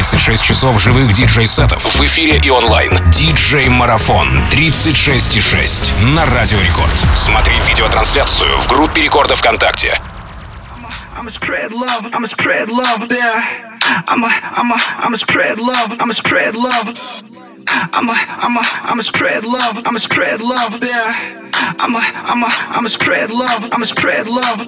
36 часов живых диджей-сетов в эфире и онлайн. Диджей-марафон 36,6 на Радио Рекорд. Смотри видеотрансляцию в группе Рекорда ВКонтакте. I'ma spread love, I'ma spread love there. I'ma spread love, I'ma spread love. I'ma spread love, I'ma spread love there. I'ma spread love, I'ma spread love.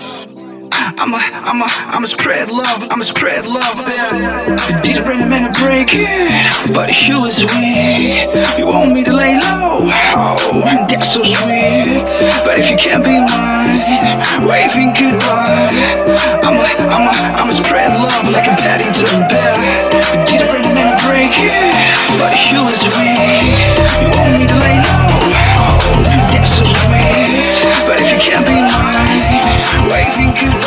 I'ma spread love, I'ma spread love there. Did bring a man to break it, but he was weak. You want me to lay low? Oh, that's so sweet. But if you can't be mine, waving goodbye. I'ma spread love like a Paddington Bear. Did bring a man to break it, but he was weak. You want me to lay low? Oh, that's so sweet. But if you can't be mine, waving goodbye.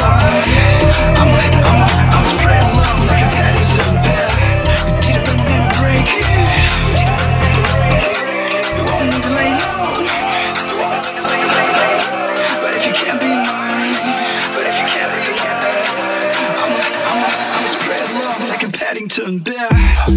I'ma spread love like a Paddington Bear. Did it bring me to break it? You want me to lay low? But if you can't be mine, I'ma spread love like a Paddington Bear.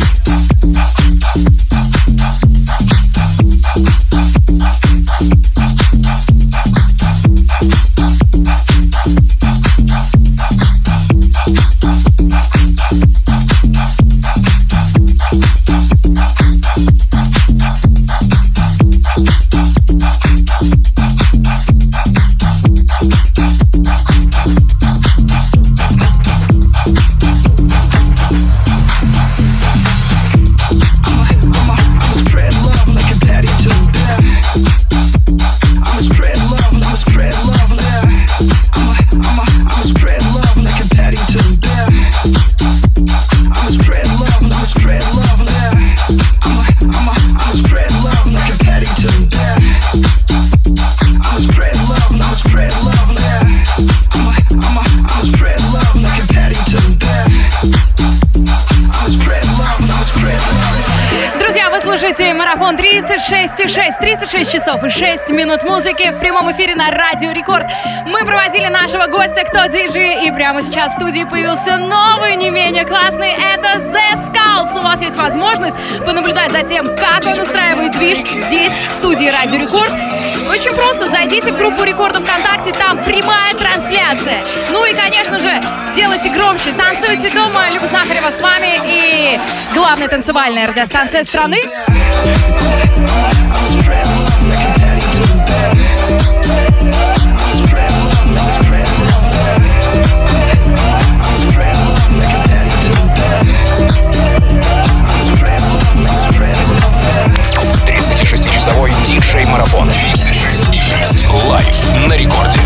Марафон 36,6, 36 часов и 6 минут музыки в прямом эфире на Радио Рекорд. Мы проводили нашего гостя «Кто диджей?» и прямо сейчас в студии появился новый, не менее классный. Это The Skulls. У вас есть возможность понаблюдать за тем, как он устраивает движ здесь, в студии Радио Рекорд. Очень просто, зайдите в группу Рекорда ВКонтакте, там прямая трансляция. Ну и, конечно же, делайте громче, танцуйте дома. Люба Знахарева с вами и главная танцевальная радиостанция страны. Часовой диджей-марафон 36,6 лайв на Рекорде.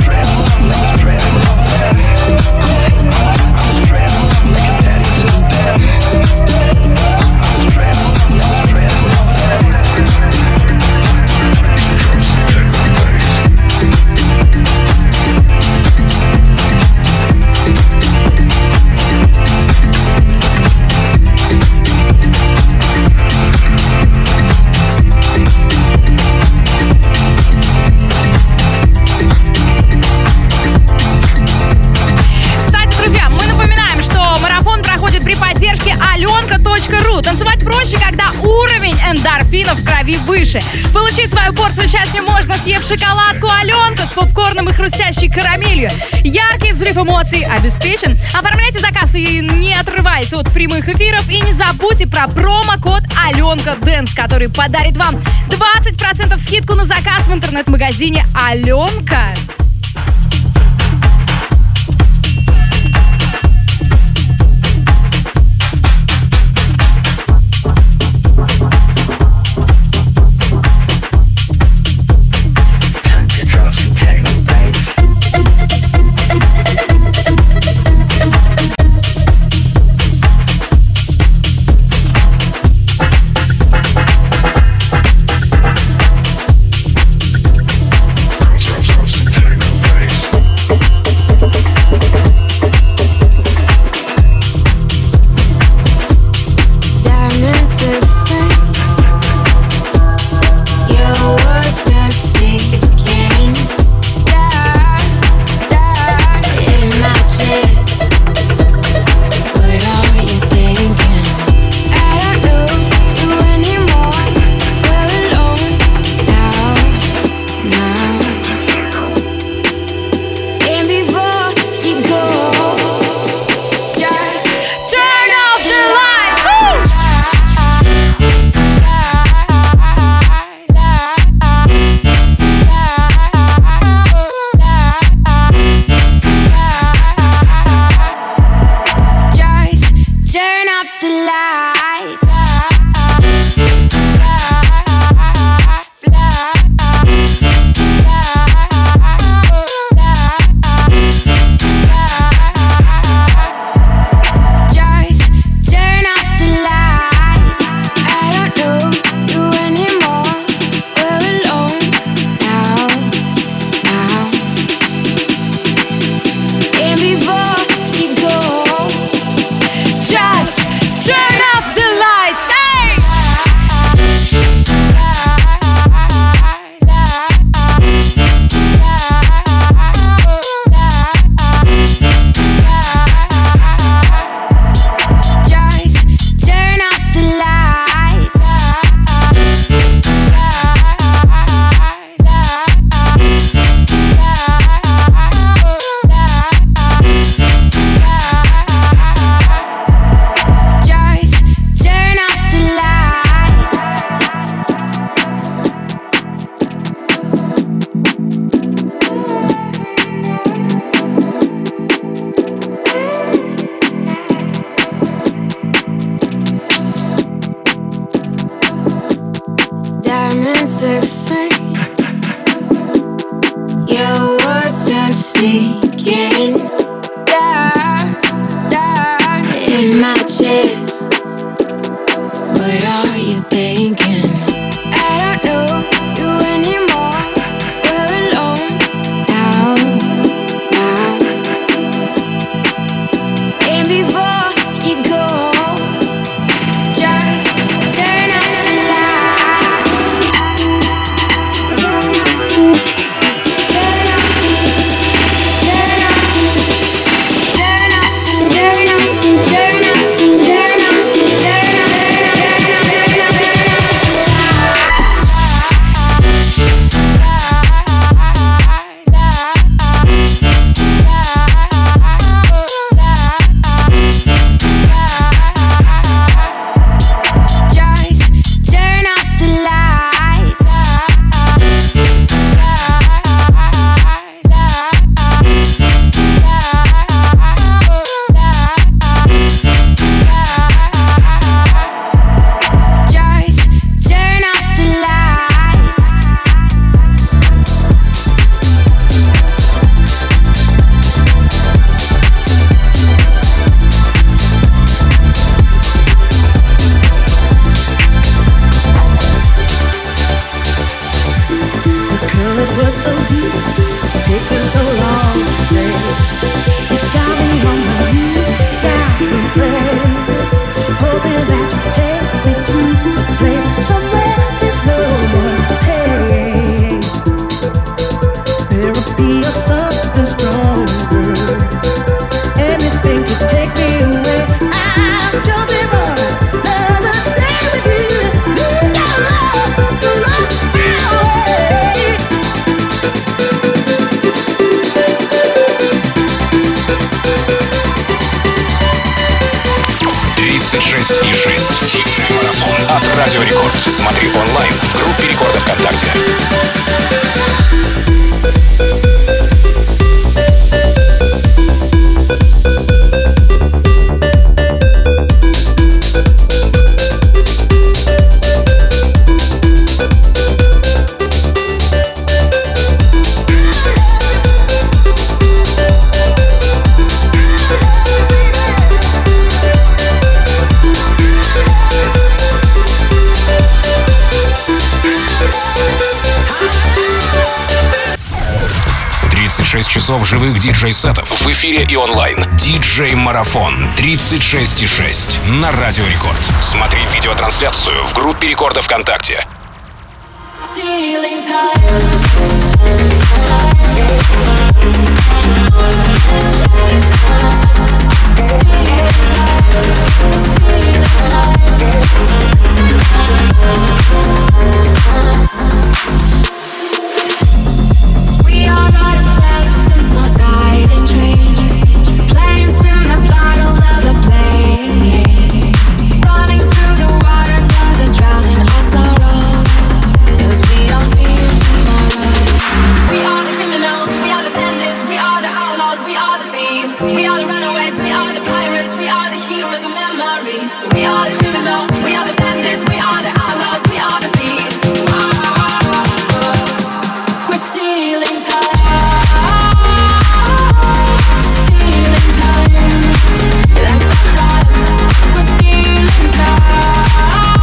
Танцевать проще, когда уровень эндорфинов в крови выше. Получить свою порцию счастья можно, съев шоколадку Аленка с попкорном и хрустящей карамелью. Яркий взрыв эмоций обеспечен. Оформляйте заказ и не отрываясь от прямых эфиров. И не забудьте про промокод Аленка Дэнс, который подарит вам 20% скидку на заказ в интернет-магазине Аленка. Turn off the lights. Hey! От Радио Рекорд. Смотри онлайн в группе Рекорда ВКонтакте. 36 часов живых диджей-сетов в эфире и онлайн. Диджей-марафон 36,6 на Радио Рекорд. Смотри видеотрансляцию в группе Рекорда ВКонтакте. We are riding elephants, not riding trains. Playing spin the bottle, never playing games. Running through the water, never drowning our sorrow. 'Cause we don't fear tomorrow. We are the criminals, we are the bandits, we are the outlaws, we are the thieves. We are the runaways, we are the pirates, we are the heroes of memories. We are the criminals, we are the bandits, we are the outlaws, we are the thieves. We're stealing time. Stealing time. That's a crime. We're stealing time.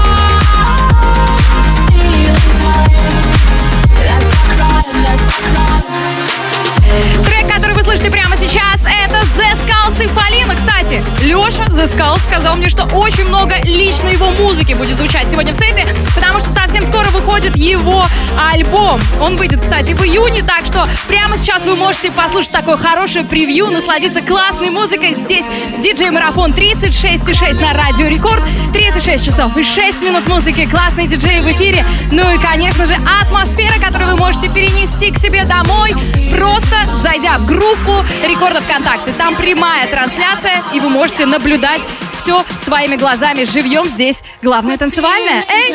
Stealing time. That's a crime. That's a crime. Трек, который вы слышите прямо сейчас, это The Skulls и Полина. Кстати, Леша The Skulls сказал напомню, что очень много лично его музыки будет звучать сегодня в сете, потому что совсем скоро выходит его альбом. Он выйдет, кстати, в июне, так что прямо сейчас вы можете послушать такое хорошее превью, насладиться классной музыкой. Здесь диджей-марафон 36,6 на Радио Рекорд. 36 часов и 6 минут музыки, классные диджеи в эфире. Ну и, конечно же, атмосфера, которую вы можете перенести к себе домой, просто зайдя в группу Рекорда ВКонтакте. Там прямая трансляция, и вы можете наблюдать все своими глазами живьем. Здесь главное танцевальное. Эй!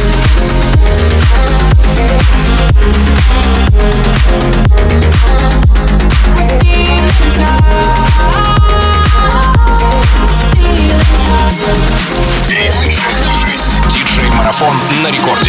Диджей-марафон на рекорде.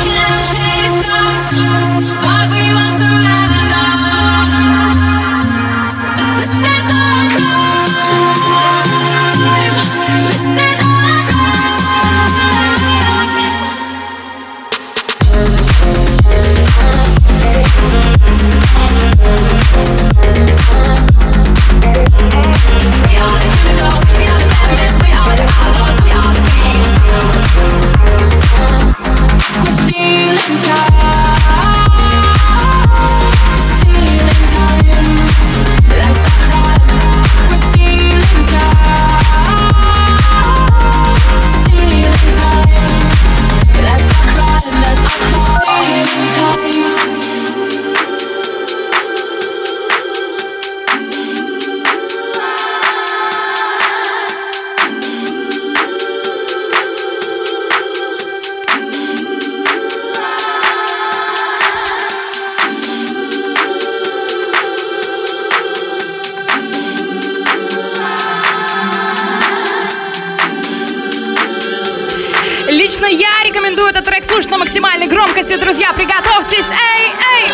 Лично я рекомендую этот трек слушать на максимальной громкости. Друзья, приготовьтесь. Эй, эй!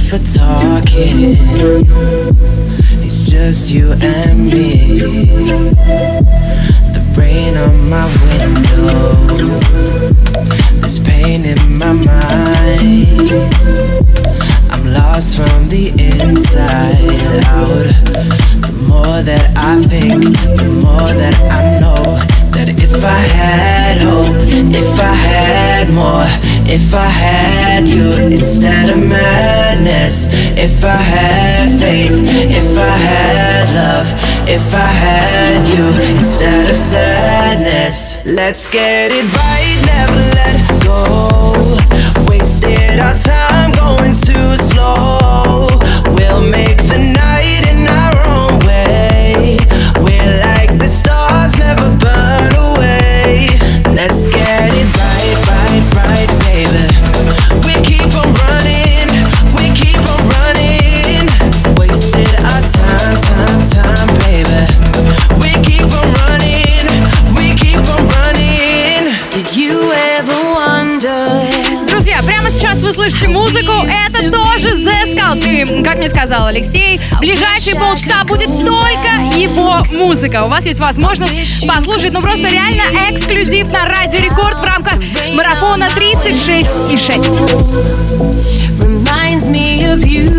for talking. It's just you and me. The rain on my window, there's pain in my mind. I'm lost from the inside out. The more that I think, the more that I know that if I had hope, if I had more, if I had you instead of madness, if I had faith, if I had love, if I had you instead of sadness. Let's get it right, never let go. Wasted our time going too slow. We'll make the night in our own way. We're like the stars, never burn away. Let's get it right, right, right, baby. We keep on running, we keep on running. Wasted our time, time, time, baby. We keep on running, we keep on running. Did you ever wonder? Друзья, прямо сейчас вы слышите музыку, это тоже The Skulls. И, как мне сказал Алексей, в ближайшие полчаса будет только его музыка. У вас есть возможность послушать, ну просто реально эксклюзив на Радио Рекорд в рамках марафона 36,6. Reminds me of you.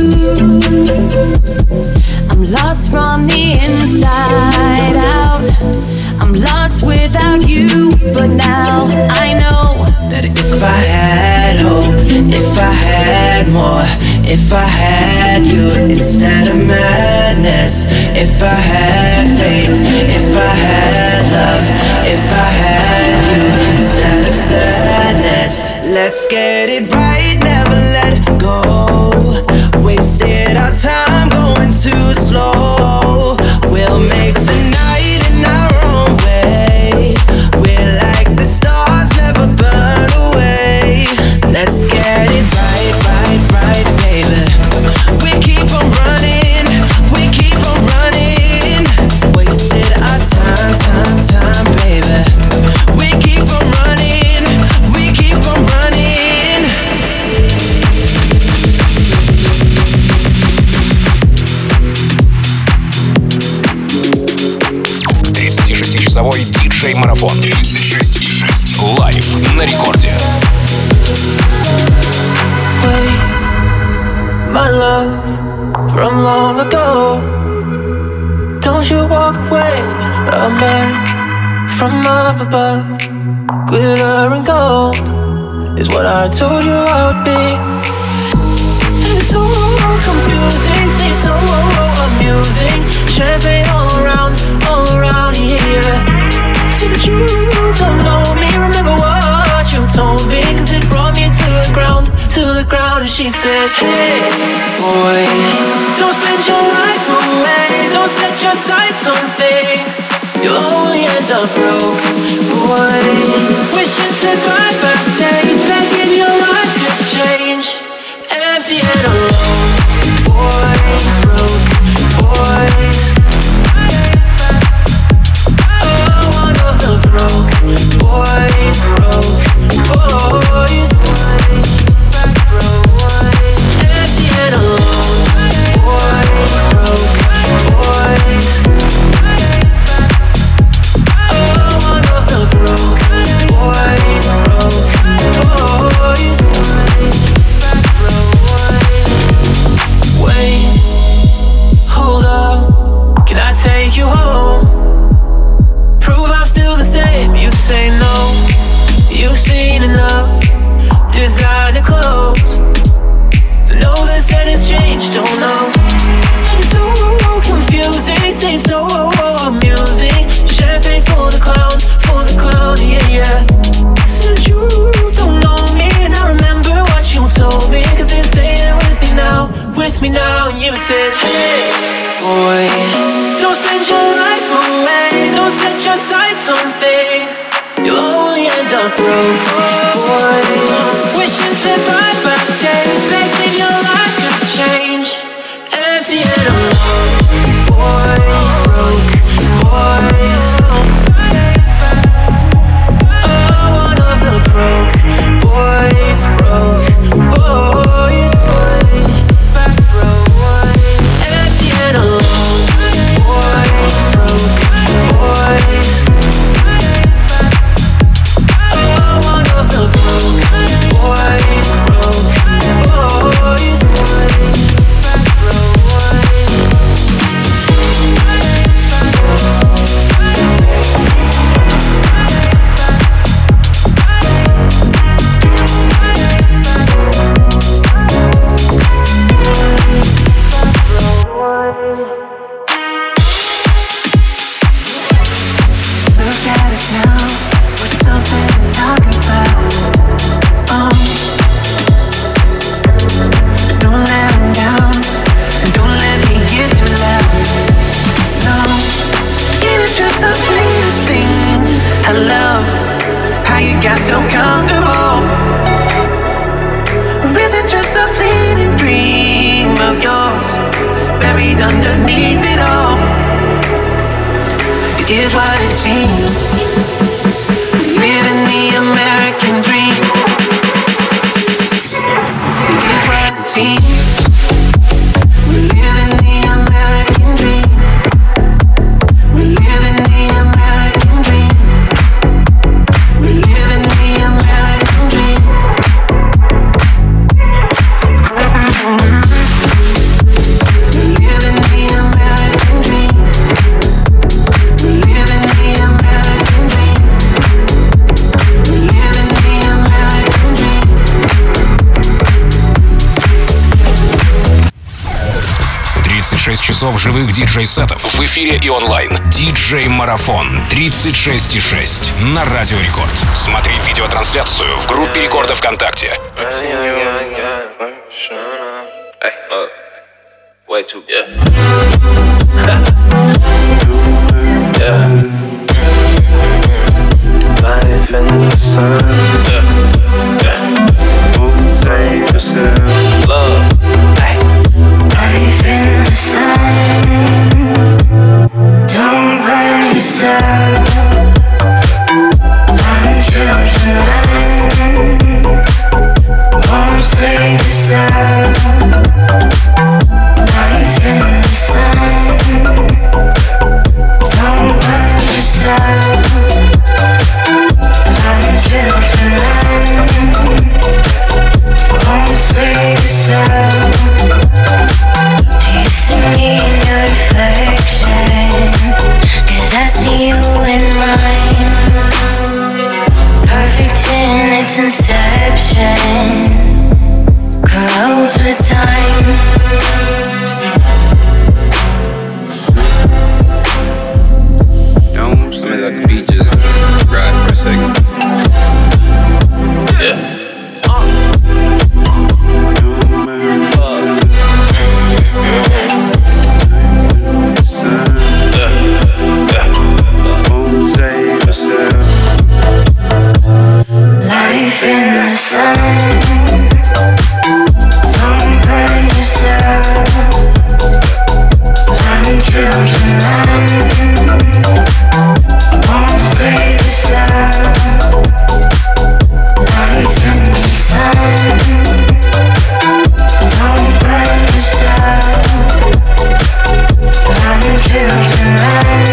I'm lost from the inside out. I'm lost without you, but now I know that if I had hope, if I had more, if I had you instead of madness, if I had faith, if I had love, if I had you instead of sadness. Let's get it right, never let go. Wasted our time going too slow. We'll make the night in our own way. We're like the stars, never burn away. Let's get it right, right, right, baby. We keep on running, we keep on running. Wasted our time, time, time, baby. We keep on running, we keep on running. 36-часовой диджей-марафон. 36,6. Лайв на рекорде. My love from long ago. Don't you walk away, a man from up above. Glitter and gold is what I told you I would be. It's so confusing, seems so amusing. Champagne all around, yeah. See that you don't know me, remember what you told me, cause it brought me to the ground, and she said, hey, boy, don't spend your life away, don't set your sights on things, you'll only end up broke, boy, wishing to buy back days, begging your life could change, empty and alone, boy, broke, boys, oh, one of the broke, boys, empty and alone, boy, broke, boys, oh, one of the broke, boys, wait, hold up, can I take you home? Prove I'm still the same, you say no, you've seen enough designer clothes to know this that it's changed, don't know. It's so confusing, seems so amusing. Champagne for the clowns, yeah. Said you don't know me, and I remember what you told me, cause you're staying with me now, and you said, hey, boy, don't spend your life away, don't set your sights on things, you'll only end up broke, boy, wishing to buy back days, begging your life could change, empty and alone, boy, broke, boys, oh, one of the broke, boys, buried underneath it all. It is what it seems. Living the American dream. It is what it seems. We're living the American dream. We're living the American dream. We're living the American dream. We're living the American dream. We're living the American dream. We're living the American dream. 36 часов живых диджей-сетов в эфире и онлайн. Диджей-марафон 36,6 на Радио Рекорд. Смотри видеотрансляцию в группе Рекорда ВКонтакте. Way too good. Life in the sun. Won't save yourself. Love. Life in the sun. Don't burn yourself. Run, children, run. Won't save yourself. Life in the sun. Don't burn yourself. Run, children, run. Won't save yourself. Do you see me in your reflection? 'Cause I see you in mine. Perfect in its inception. Corrodes with time. Don't I'm gonna let the beat just ride for a second. Yeah. Won't save yourself. Life in the sun. Don't burn yourself. Run, children, run. Won't save yourself. Life in the sun. Don't burn yourself. Run, children, run.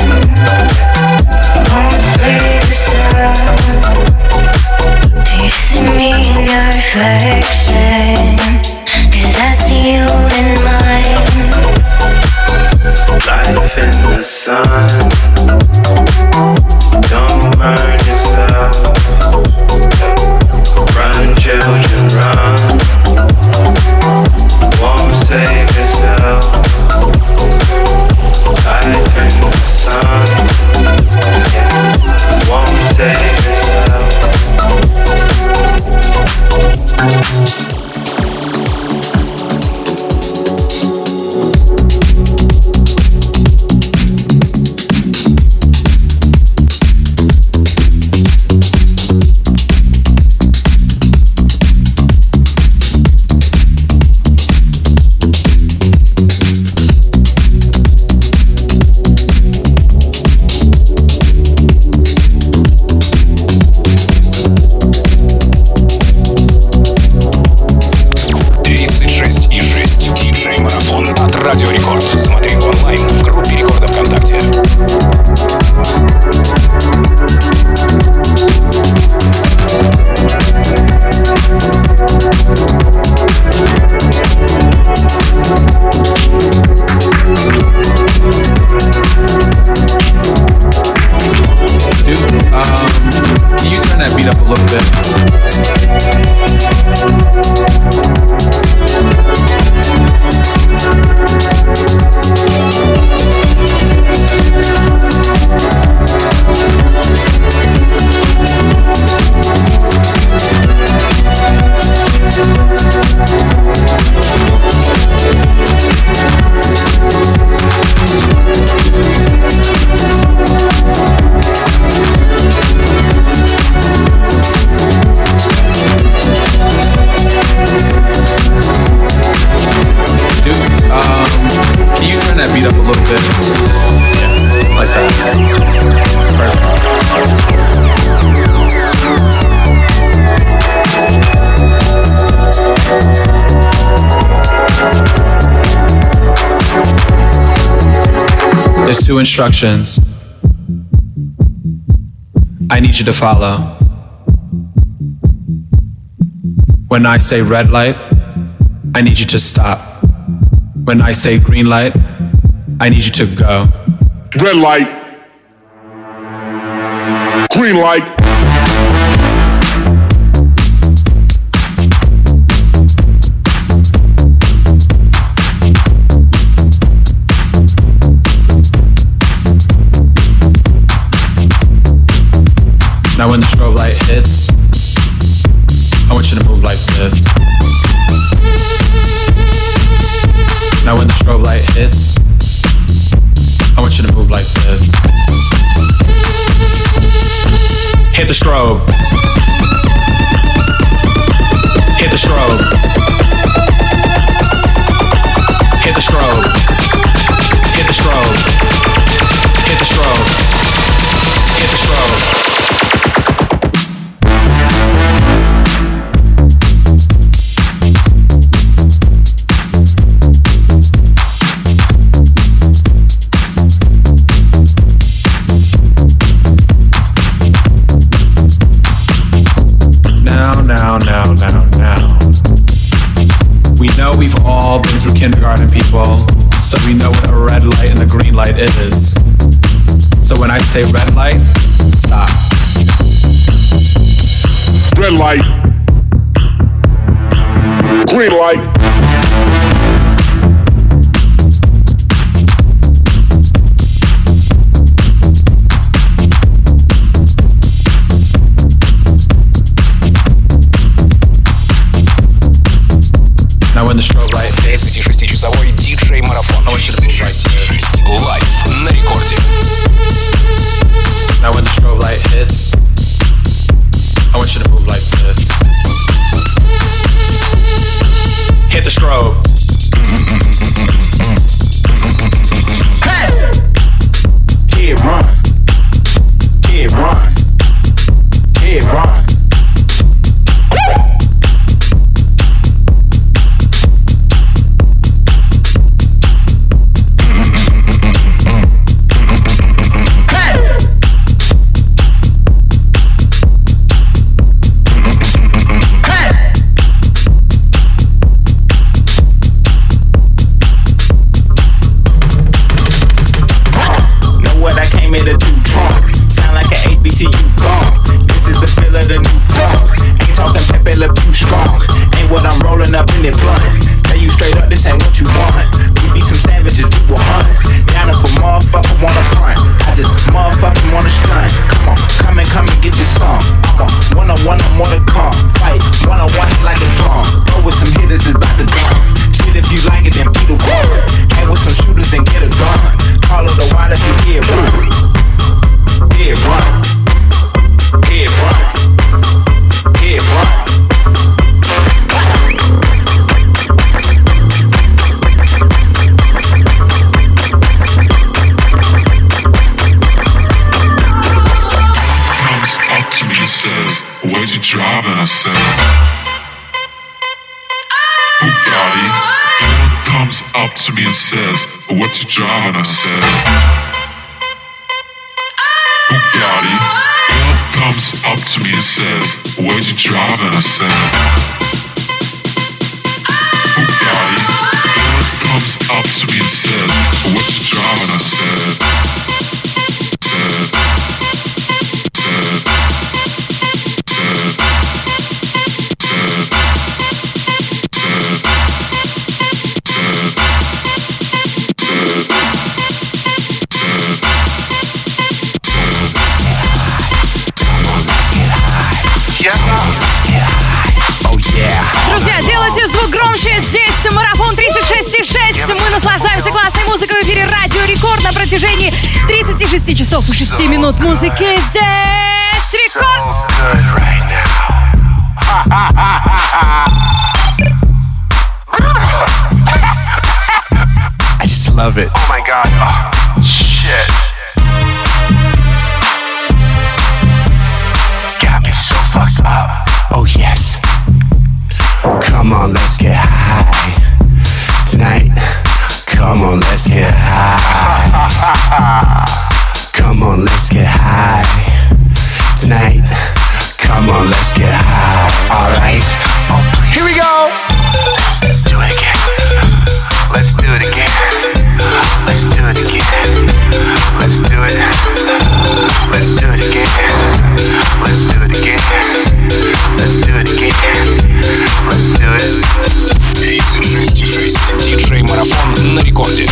Won't save yourself. Do you see me in your reflection? 'Cause I see you in mine. Life in the sun. Don't burn yourself. Run, children, run. Won't save yourself. Life in the sun. Won't save yourself. Радио Рекорд. Смотри онлайн в группе Рекорда ВКонтакте. Dude, can you turn that beat up a little bit? that beat up a little bit? Yeah, like that. Perfect. There's 2 instructions I need you to follow. When I say red light, I need you to stop. When I say green light, I need you to go. Red light. Green light. Now when the strobe light hits, I want you to move like this. Now when the strobe light hits, I want you to move like this. Hit the strobe. Hit the strobe. Hit the strobe. Hit the strobe. Hit the strobe. Hit the strobe. Now. We know we've all been through kindergarten, people, so we know what a red light and a green light is. So when I say red light, stop. Red light. Green light. Now when the strobe light hits, 36-часовой диджей-марафон. Лайв на рекорде. Now when the strobe light hits, I want you to move like this. Hit the strobe. Hey! Kid run. Kid run. Kid run. What you driving? I said, Bugatti. Girl comes up to me and says, where'd you driving? I said, Bugatti. Girl comes up to me and says, what you driving? I said, Друзья, делайте звук громче. Здесь марафон 36,6. Мы наслаждаемся классной музыкой в эфире Радио Рекорд на протяжении 36 часов и 6 минут музыки. Здесь Рекорд. I just love it. Oh my god. Oh, shit. Got me so fucked up. Oh yes. Come on, let's get high tonight. Come on, let's get high. Come on, let's get high tonight. Come on, let's get high. Alright. Here we go. Let's do it again. Let's do it again. Let's do it again. Let's do it. Let's do it again. Let's do it again. Let's do it again. Let's do it. 36,6. Диджей Марафон на рекорде.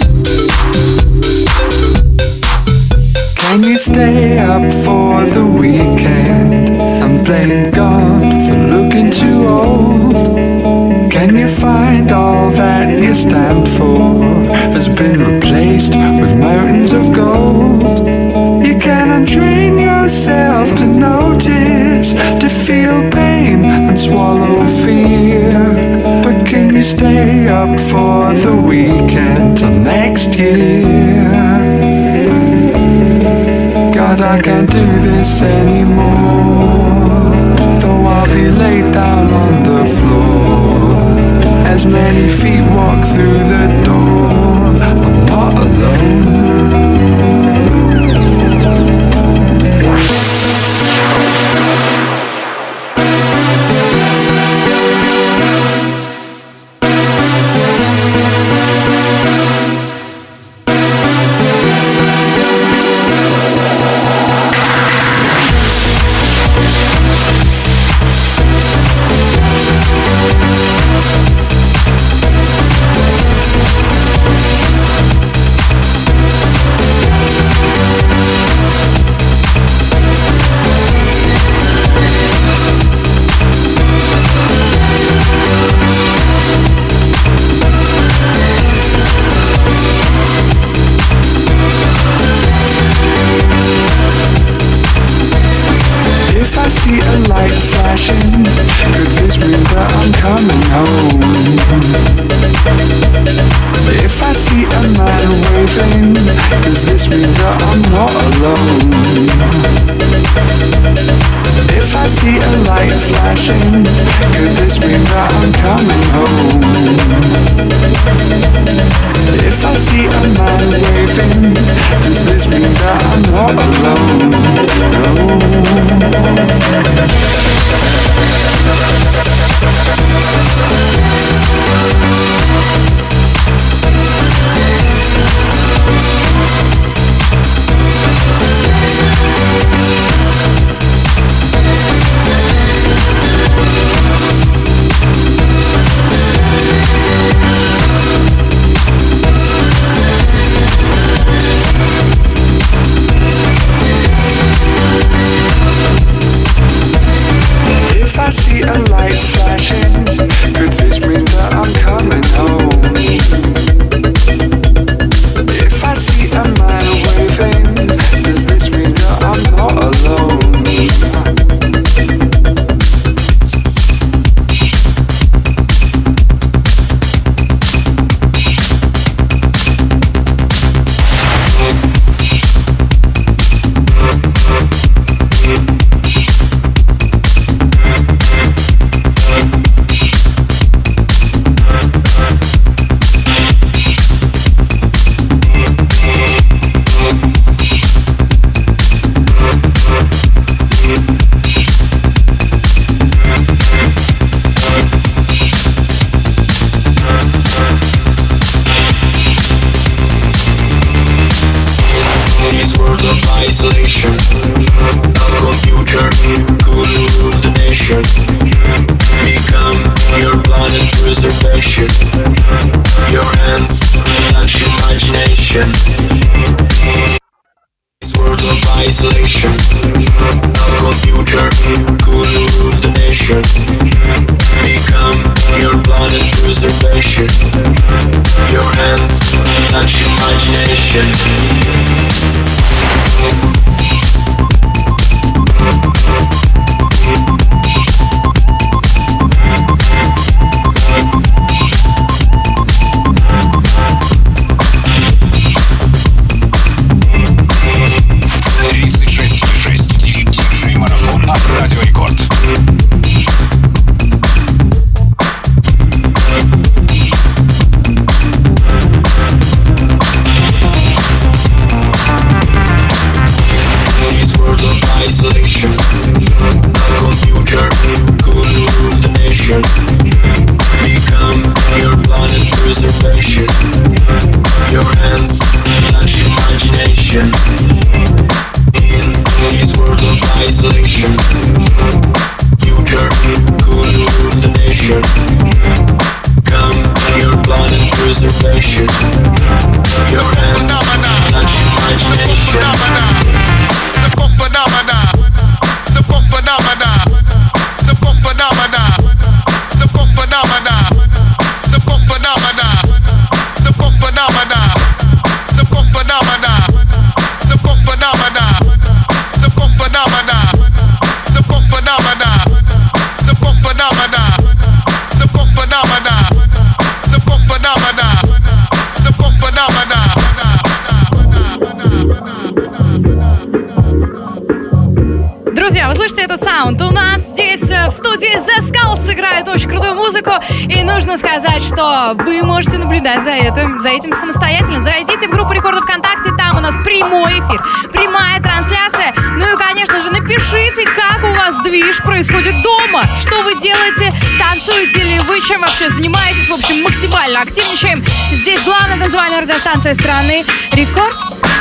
Can you stay up for the weekend and blame God for looking too old? Can you find all that you stand for has been replaced with mountains of gold? You can untrain yourself to notice, to feel pain and swallow fear. But can you stay up for the weekend till next year? God, I can't do this anymore. Though I'll be laid down on the floor, as many feet walk through the door, I'm not alone. dance, touch imagination. In this world of isolation, future could move the nation. Come your blood and preservation. Your hands touch imagination. The funk phenomena. The funk phenomena. The funk phenomena. The funk phenomena. The funk phenomena. The funk phenomena. The funk phenomena. The funk phenomena. The funk phenomena. The funk phenomena. The funk phenomena. The funk phenomena. The funk phenomena. The funk phenomena. Друзья, вы слышите этот саунд? У нас здесь в студии The Skulls сыграет очень крутую музыку. И нужно сказать, что вы можете наблюдать за этим самостоятельно. Зайдите в группу Рекордов ВКонтакте, там у нас прямой эфир, прямая трансляция. Ну и, конечно же, напишите, как у вас движ происходит дома. Что вы делаете, танцуете ли вы, чем вообще занимаетесь. В общем, максимально активничаем. Здесь главная танцевальная радиостанция страны Рекорд.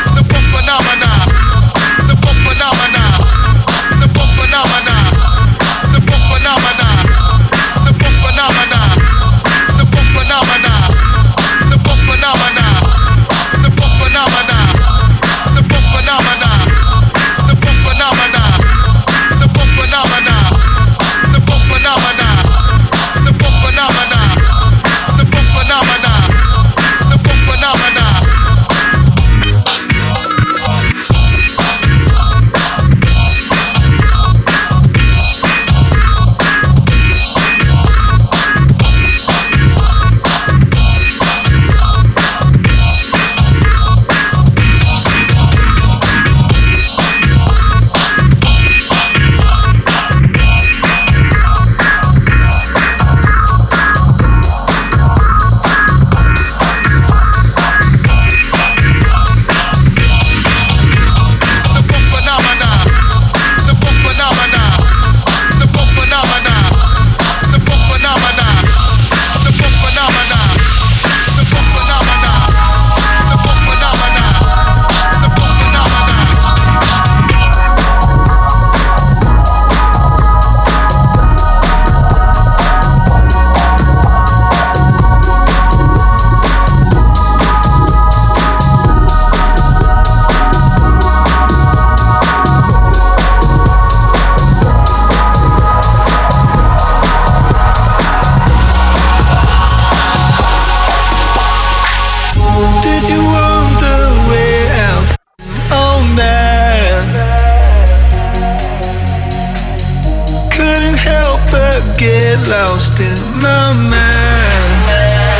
Lost in my mind.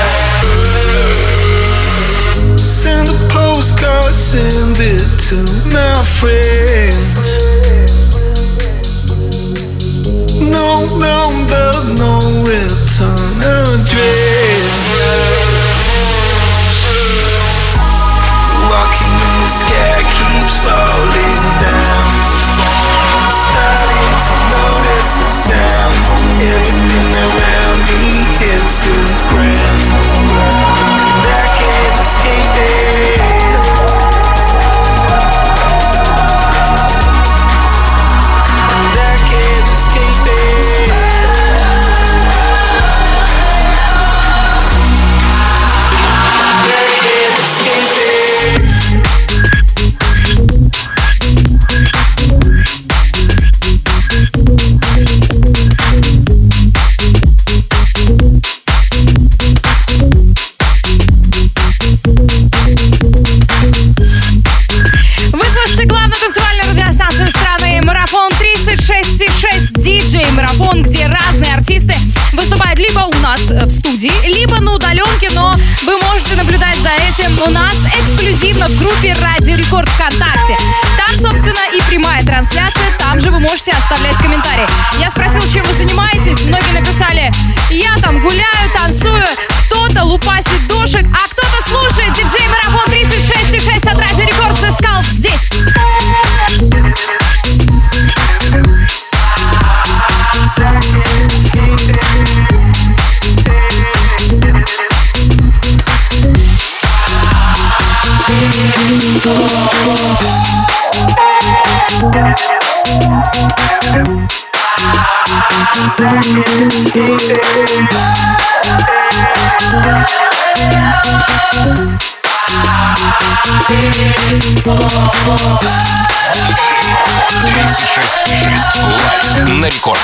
Send a postcard, send it to my friends. No number, no return address. Walking in the sky keeps falling down. Starting to notice the sound. Everything around me hits the ground, and I can't escape it. And I can't escape it. And I can't escape it. Марафон, где разные артисты выступают либо у нас в студии, либо на удаленке, но вы можете наблюдать за этим у нас эксклюзивно в группе Радио Рекорд ВКонтакте. Там, собственно, и прямая трансляция, там же вы можете оставлять комментарии. Я спросила, чем вы занимаетесь, многие написали: я там гуляю, танцую, кто-то лупасит душек, а кто-то слушает диджей Марафон 36,6 от Радио Рекорд. The Skulls здесь. Лайв на рекорде.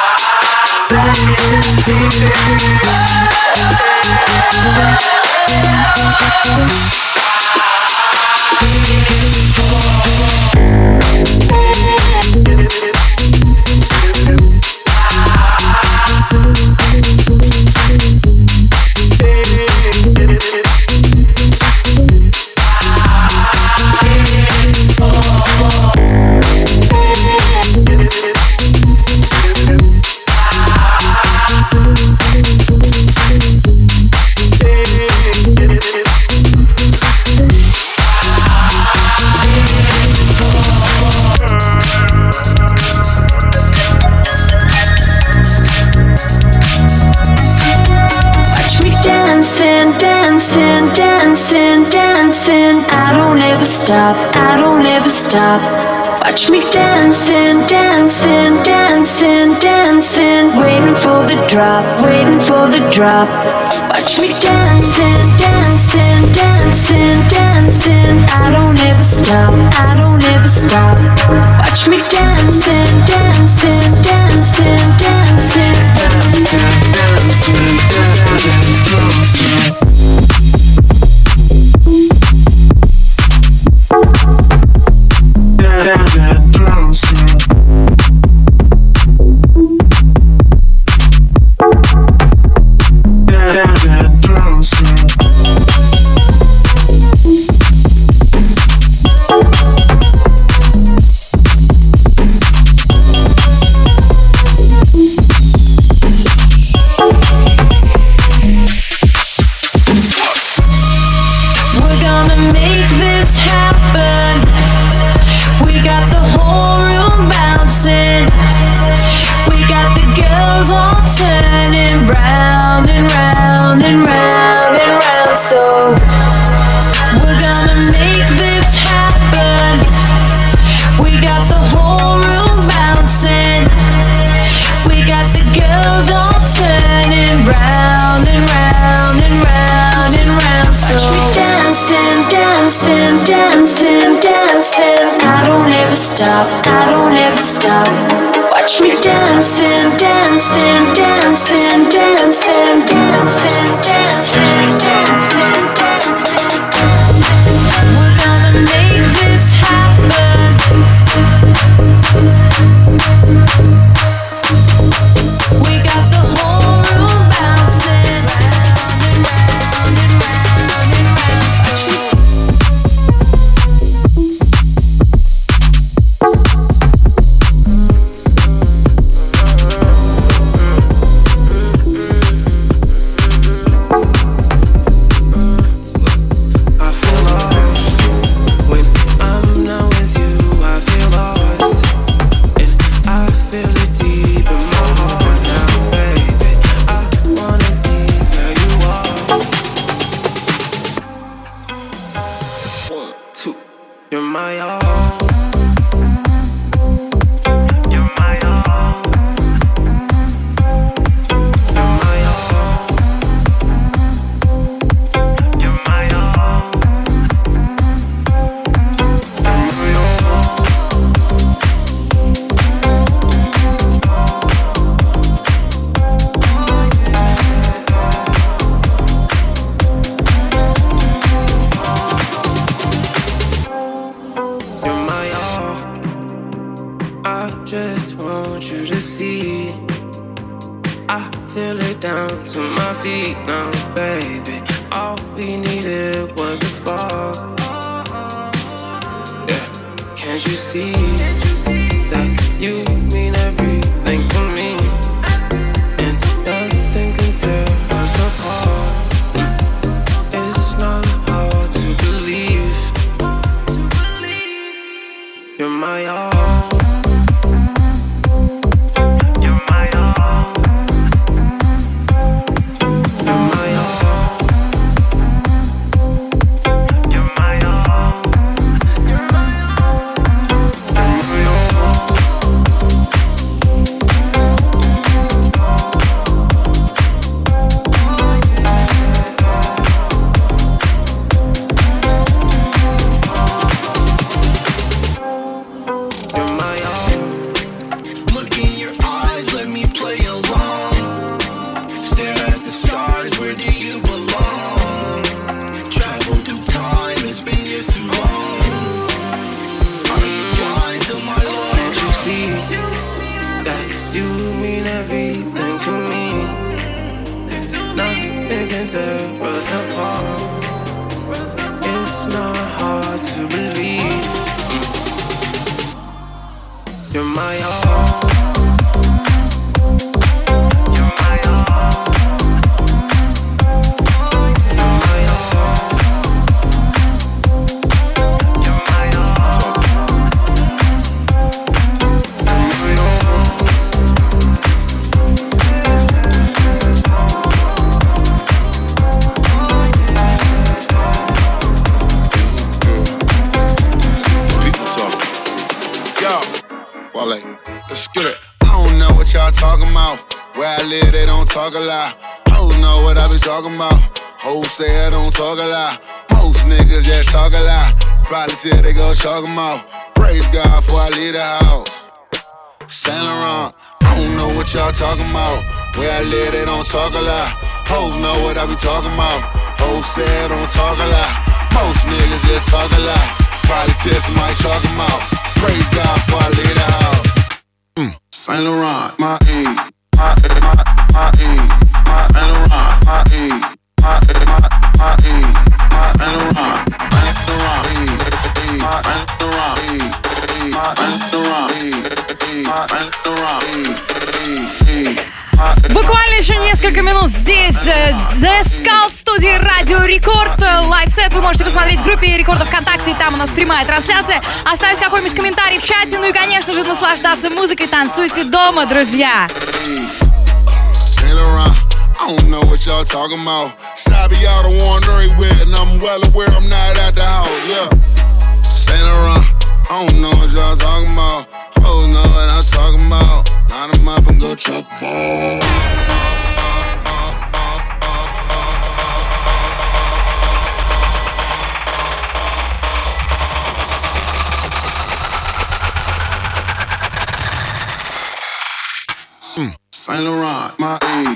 Stop. Watch me dancing, dancing, dancing, dancing. Waiting for the drop, waiting for the drop. Watch me dancing, dancing, dancing, dancing. I don't ever stop, I don't ever stop. Watch me dancing, dancing, dancing, dancing, dancing, dancing, dancing. I don't ever stop. Watch me dancing, dancing, dancing, dancing, dancing, dancing, dancing, dancing. We're gonna make this happen. We got the whole room bouncing round and round and round and round. tear us apart. It's not hard to believe you're my all. Talking about where I live, they don't talk a lot. Hoes know what I be talking about. Hoes say I don't talk a lot. Most niggas just talk a lot. Probably till they go chalk 'em out. Praise God before I leave the house. Saint Laurent, I don't know what y'all talking about. Where I live, they don't talk a lot. Hoes know what I be talking about. Hoes say I don't talk a lot. Most niggas just talk a lot. Probably till somebody chalk 'em out. Praise God before I leave the house. Saint Laurent, my E, my E, my Saint Laurent, my E, my E, my Saint Laurent, Saint Laurent, my Saint Laurent, my Saint Laurent, my Saint Laurent. Буквально еще несколько минут здесь The Skull в студии Радио Рекорд. Лайвсет вы можете посмотреть в группе Рекордов ВКонтакте, там у нас прямая трансляция. Оставить какой-нибудь комментарий в чате, ну и, конечно же, наслаждаться музыкой. Танцуйте дома, друзья. I don't know what y'all talking about. Sabi y'all the one everywhere, and I'm well aware I'm not at the house, yeah. Saint Laurent, I don't know what y'all talking about. Hoes know what I'm talking about. Line 'em up and go chuck ball. Saint Laurent, my E.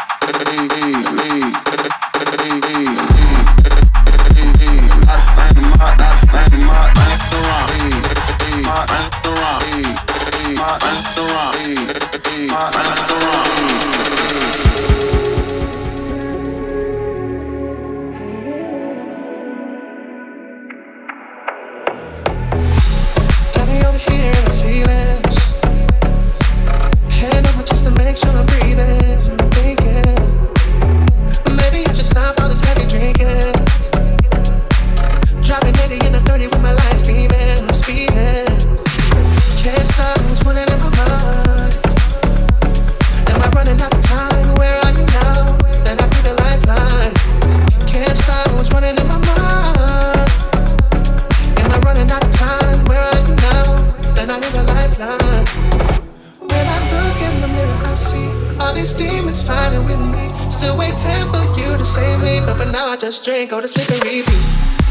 Got me over here in my feelings. Hand on my chest to make sure I'm breathing. I'm thinking maybe I should stop all this heavy drinking. Driving 80 in a 30 with my lights beaming. I'm speeding. Can't stop what's running in my mind. Am I running out of time? Where are you now? Then I need a lifeline. Can't stop what's running in my mind. Am I running out of time? Where are you now? Then I need a lifeline. When I look in the mirror, I see all these demons fighting with me. Still waiting for you to save me, but for now I just drink, go to sleep and repeat.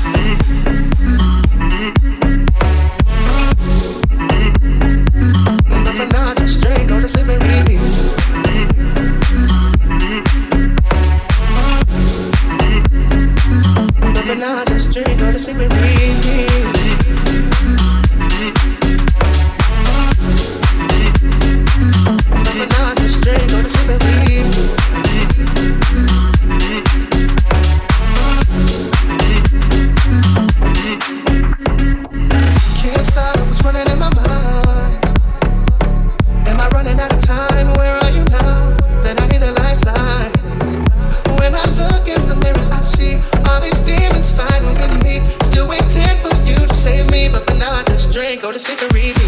But for now I just drink, go to sleep and repeat. But for now I just drink, go to sleep and repeat. But now I just drink, go to sleep and repeat. Can't stop what's running in my mind. Am I running out of time? Where are you now? Then I need a lifeline. When I look in the mirror, I see all these demons fighting with me. Still waiting for you to save me, but for now I just drink, go to sleep and repeat.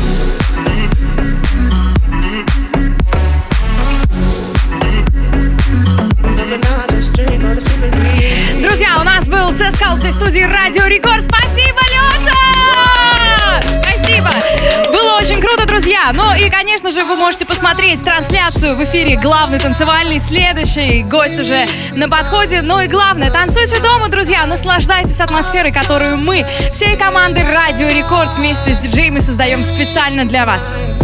Друзья, у нас был The Skull в студии Радио Рекорд. Спасибо, Леша! Спасибо! Было очень круто, друзья. Ну и, конечно же, вы можете посмотреть трансляцию в эфире главный танцевальный. Следующий гость уже на подходе. Ну и главное, танцуйте дома, друзья. Наслаждайтесь атмосферой, которую мы, всей командой Радио Рекорд вместе с диджеями создаем специально для вас.